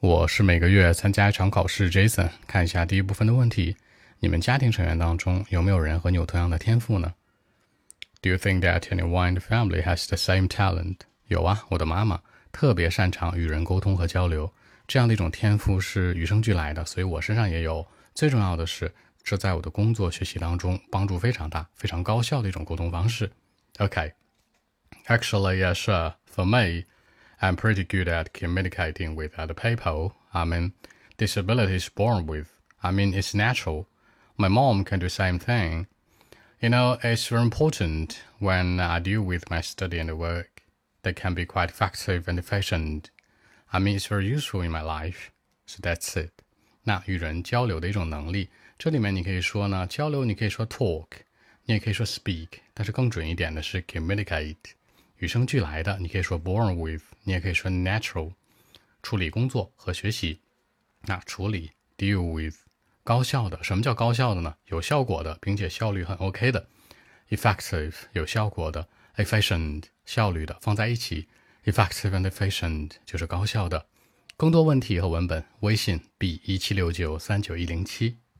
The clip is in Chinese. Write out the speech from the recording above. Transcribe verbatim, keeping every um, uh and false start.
我是每个月参加一场考试 Jason， 看一下第一部分的问题，你们家庭成员当中有没有人和你有同样的天赋呢？ Do you think that anyone in the family has the same talent? 有啊，我的妈妈特别擅长与人沟通和交流，这样的一种天赋是与生俱来的，所以我身上也有。最重要的是，这在我的工作学习当中帮助非常大，非常高效的一种沟通方式。Okay. Actually, yeah, sure. For me, I'm pretty good at communicating with other people. I mean, disability is born with. I mean, it's natural. My mom can do the same thing. You know, it's very important when I deal with my study and work. They can be quite effective and efficient. I mean, it's very useful in my life. So that's it. 那与人交流的一种能力，这里面你可以说呢，交流你可以说 talk， 你也可以说 speak， 但是更准一点的是 communicate。与生俱来的，你可以说 born with， 你也可以说 natural。处理工作和学习，那处理 deal with， 高效的，什么叫高效的呢？有效果的，并且效率很 OK 的。effective 有效果的， efficient 效率的，放在一起 effective and efficient 就是高效的。更多问题和文本，微信 b 一七六九三九一零七。